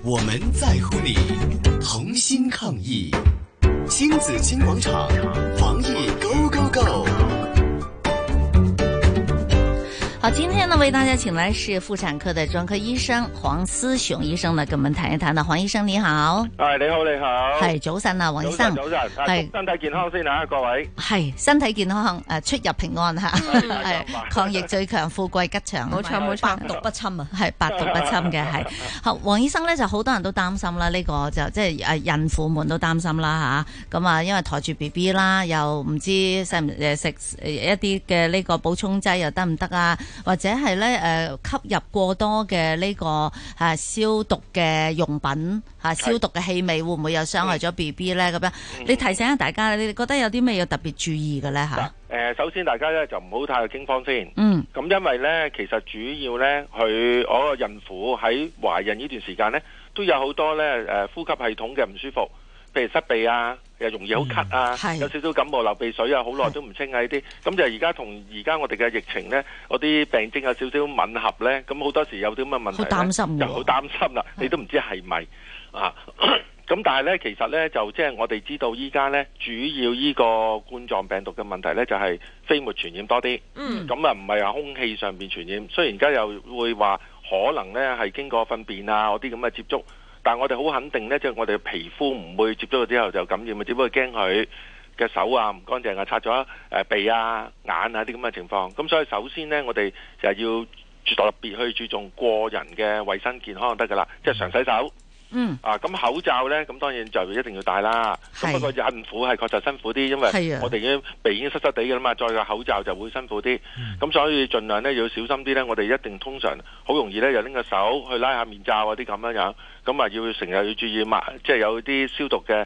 我們在乎你，同心抗疫。親子金廣場，防疫 Go Go Go！ 好，今天呢為大家請來是婦產科的專科醫生黃思雄醫生呢，跟我們談一談。黃醫生你好， 係你好，你好， 係早晨啊，黃醫生， 早晨，係身體健康先啊，各位， 係身體健康，出入平安吓，係抗疫最強，富貴吉祥， 冇錯冇錯， 百毒不侵啊，係百毒不侵嘅係。好，黃醫生咧就好多人都擔心啦，呢個就即係孕婦們都擔心啦吓，咁啊因為抬住 BB 啦，又唔知食唔食一啲嘅呢個補充劑又得唔得啊？或者係咧吸入過多嘅呢個消毒嘅用品消毒嘅氣味，會唔會又傷害咗 BB 咧？咁樣你提醒下大家，你哋覺得有啲咩要特別注意嘅咧嚇？ 首先大家咧就唔好太過驚慌先。咁因為咧其實主要咧佢嗰個孕婦喺懷孕呢段時間咧都有好多咧呼吸系統嘅唔舒服，譬如塞鼻啊，又容易好咳啊，有少少感冒流鼻水啊，好耐都唔清啊呢啲，咁就而家同而家我哋嘅疫情呢，嗰啲病徵有少少吻合呢，咁好多時有啲咁嘅問題就好擔心啦，你都唔知係咪啊？咁但係呢，其實呢，就即係我哋知道依家呢，主要呢個冠狀病毒嘅問題呢，就係飛沫傳染多啲，咁啊唔係話空氣上邊傳染，雖然而家又會話可能呢係經過糞便啊嗰啲咁嘅接觸。但係我哋好肯定呢，即係我哋嘅皮膚唔會接觸咗之後就感染，只不過驚佢嘅手啊唔乾淨啊，擦咗鼻啊、眼啊啲咁嘅情況。咁所以首先呢，我哋就係要特別去注重個人嘅衛生健康就得噶啦，即係常洗手。咁口罩呢，咁當然就一定要戴啦。咁不過孕婦係確實辛苦啲，因為我哋鼻已經濕濕地嘅啦嘛，再個口罩就會辛苦啲。咁所以盡量呢要小心啲呢。我哋一定通常好容易呢，又拎個手去拉下面罩嗰啲咁樣樣。咁啊要成日要注意抹，即係有啲消毒嘅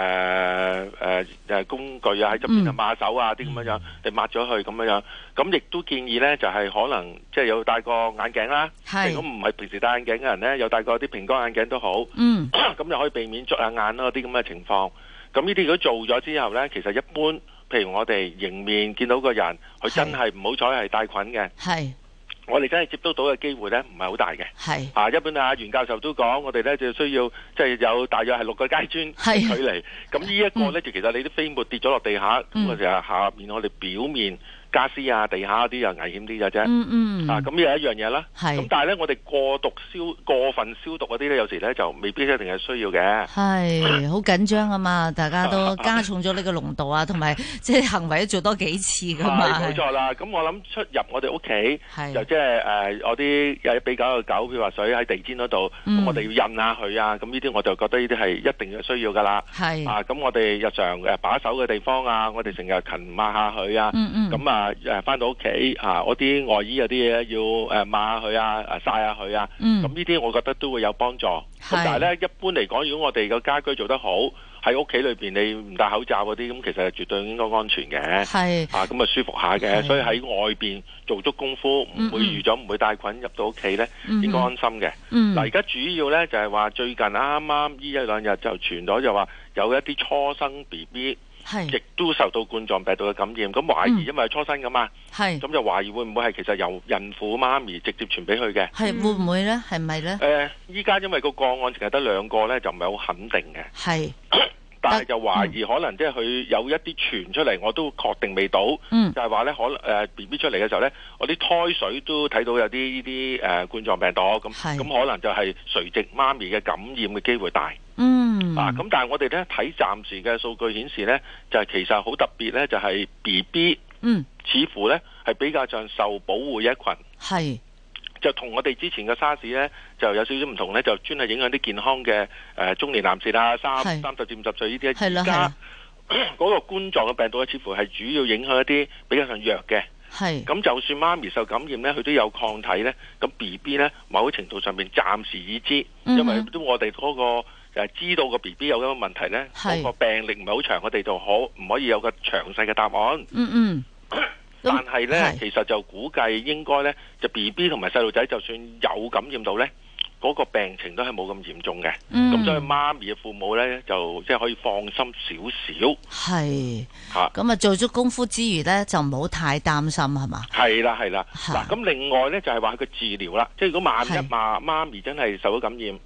工具啊喺側邊啊抹手啊啲咁樣樣，你抹咗去咁樣樣。咁亦都建議呢，就係可能即係有戴個眼鏡啦。如果唔係平時戴眼鏡嘅人呢，有戴個啲平光眼鏡都好。咁就可以避免捽下眼咯啲咁嘅情況。咁呢啲如果做咗之後呢，其實一般譬如我哋迎面見到個人，佢真係唔好彩係帶菌嘅。我哋真係接觸到嘅機會呢，唔係好大嘅。一般袁教授都講，我哋呢就需要即係有大約係6個階磚距離。咁呢一個呢，就其實你啲飛沫跌咗落地下，咁我哋下面我哋表面家私啊、地下嗰啲又危險啲嘅啫。咁呢係一樣嘢啦。咁但係呢，我哋過分消毒嗰啲呢，有時呢就未必一定係需要嘅。 係好緊張啊嘛，大家都加重咗呢個濃度啊，同埋即係行為都做多幾次噶嘛。 冇錯啦。咁我諗出入我哋屋企就即係我啲有比較嘅狗，譬如話水喺地氈嗰度，咁我哋要印下佢啊。咁呢啲我就覺得呢啲係一定嘅需要噶啦。咁我哋日常把手嘅地方啊，我哋成日勤抹下佢啊。咁翻到屋企我啲外衣有啲嘢要抹下佢啊，曬下佢啊。咁呢啲我覺得都會有幫助。咁但係咧，一般嚟講，如果我哋個家居做得好，喺屋企裏邊你唔戴口罩嗰啲，咁其實係絕對應該安全嘅。咁啊舒服下嘅。所以喺外邊做足功夫，唔會預咗唔會帶菌入到屋企咧，應該安心嘅。嗱，而家主要咧就係話最近啱啱呢1-2日就傳咗，就話有一啲初生 BB。亦都受到冠狀病毒嘅感染，咁懷疑因為係初生噶嘛，咁就懷疑會唔會係其實由孕婦媽咪直接傳俾佢嘅？ 會唔會咧？係咪咧？ 依家因為個案淨係得2個咧，就唔係好肯定嘅。但係就懷疑可能即係佢有一啲傳出嚟，我都確定未到。就係話咧，可能BB 出嚟嘅時候咧，我啲胎水都睇到有啲呢啲冠狀病毒咁可能就係垂直媽咪嘅感染嘅機會大。咁但係我哋咧睇暫時嘅數據顯示咧，就係其實好特別咧，就係 BB 似乎咧係比較上受保護一群。就同我哋之前嘅沙士咧就有少少唔同咧，就專係影響啲健康嘅中年男士啦，30至50歲呢啲。而家嗰個冠狀嘅病毒咧，似乎係主要影響一啲比較上弱嘅。咁就算媽咪受感染咧，佢都有抗體咧。咁 BB 咧，某程度上面暫時已知，因為都我哋嗰個知道個 BB 有咁嘅問題咧，嗰個病歷唔係好長，我哋就唔可以有個詳細嘅答案。但係咧，其實就估計應該咧，就 BB 同埋細路仔，就算有感染到咧，嗰個病情都係冇咁嚴重嘅。咁所以媽咪嘅父母咧，就即係可以放心少少。 咁啊，做足功夫之餘咧，就唔好太擔心係嘛？ 係啦。嗱，咁另外咧就係話佢個治療啦，即係如果萬一媽咪真係受咗感染，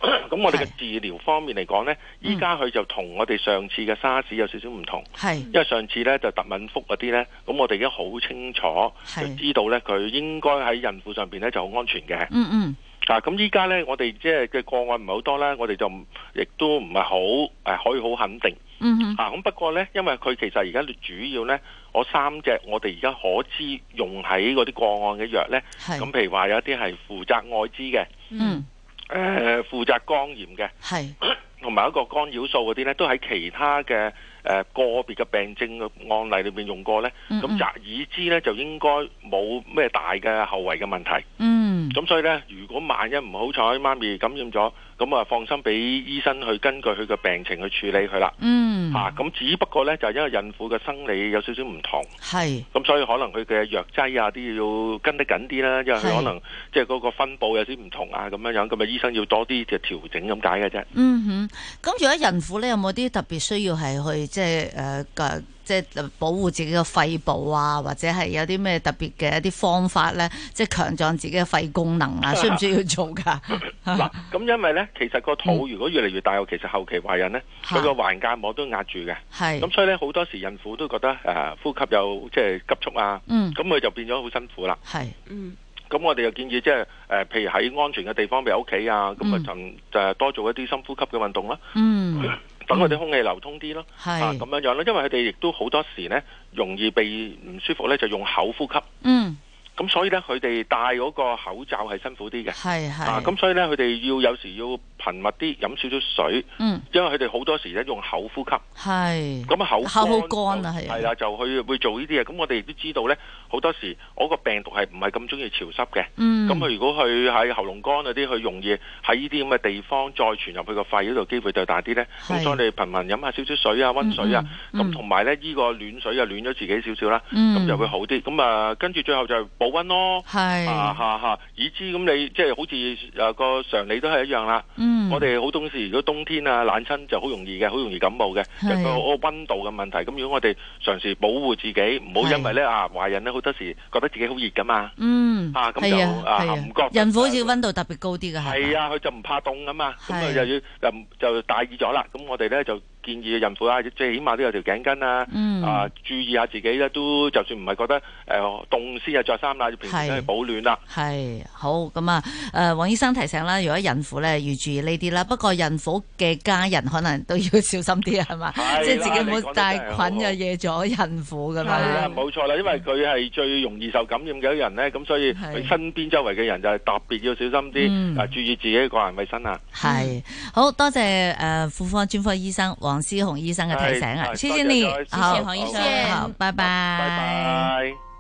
咁我哋嘅治療方面嚟講呢，依家佢就同我哋上次嘅沙士有少少唔同，因為上次呢就特敏福嗰啲呢，咁我哋已經好清楚就知道呢，佢應該喺孕婦上邊呢就好安全嘅。咁依家呢，我哋即係嘅個案唔係好多啦，我哋就亦都唔係好可以好肯定。咁不過呢，因為佢其實而家主要呢，我3隻我哋而家可知用喺嗰啲個案嘅藥呢，咁譬如話有一啲係負責愛滋嘅，負責肝炎嘅，同埋一個干擾素嗰啲呢，都喺其他嘅個別嘅病症嘅案例裏面用過呢。咁澤爾茲呢，就應該冇咩大嘅後遺嘅問題。咁所以呢，如果萬一唔好彩媽咪感染咗，咁啊放心俾醫生去根據佢嘅病情去處理佢啦。咁只不過呢，就因為孕婦嘅生理有少少唔同，咁所以可能佢嘅藥劑啊啲要跟得緊啲啦，因為佢可能即係嗰個分佈有啲唔同啊咁樣，咁啊醫生要多啲嘅調整咁解嘅啫。 咁如果孕婦呢，有冇啲特別需要係去即係保護自己嘅肺部啊，或者係有啲咩特別嘅一啲方法咧，即係強壯自己嘅肺功能啊，需唔需要做噶？ 嗱，咁因為咧，其實個肚如果越嚟越大，其實後期懷孕咧，佢個環間膜都壓住嘅，咁所以咧好多時孕婦都覺得呼吸有即係急促啊，咁佢就變咗好辛苦啦。咁我哋又建議即係譬如喺安全嘅地方，譬如屋企啊，咁就多做一啲深呼吸嘅運動啦。等佢哋空氣流通啲咯，咁樣樣啦，因為佢哋亦都好多時咧容易被唔舒服咧，就用口呼吸。咁所以咧，佢哋戴嗰個口罩係辛苦啲嘅。咁所以咧，佢哋有時要頻密啲飲少少水。因為佢哋好多時咧用口呼吸。咁口好乾啊，係啦，就會做呢啲嘢。咁我哋亦都知道咧，好多時我個病毒係唔係咁中意潮濕嘅。咁佢如果佢喺喉嚨乾嗰啲，佢容易喺呢啲咁嘅地方再傳入去個肺嗰度，機會就大啲咧。咁所以你頻密飲下少少水啊，溫水啊，咁同埋咧呢個暖水啊，暖咗自己少少啦，咁就會好啲。咁跟住最後就保溫咯。以知咁你即係好似個常理都係一樣啦。我哋好多時如果冬天啊冷親就好容易嘅，好容易感冒嘅，就個溫度嘅問題。咁如果我哋嘗試保護自己，唔好因為咧懷孕咧好多時覺得自己好熱噶嘛。咁就唔覺。 孕婦好似溫度特別高啲嘅係。 佢就唔怕凍啊嘛。咁啊又要就大意咗啦。咁我哋咧就建議孕婦啊，即係起碼都有條頸巾啊，注意下自己咧，都就算唔係覺得凍先啊着衫啦，平時都係保暖啦。 好咁啊！黃醫生提醒啦，如果孕婦咧要注意呢啲啦，不過孕婦嘅家人可能都要小心啲係嘛，即係自己唔好帶菌又惹咗孕婦咁樣。冇錯啦，因為佢係最容易受感染嘅一人咧，咁所以佢身邊周圍嘅人就係特別要小心啲，注意自己個人衛生啊。 好多謝婦科專科醫生黃思紅醫生嘅提醒啊，謝謝你， 謝謝黃醫生， 好，拜拜。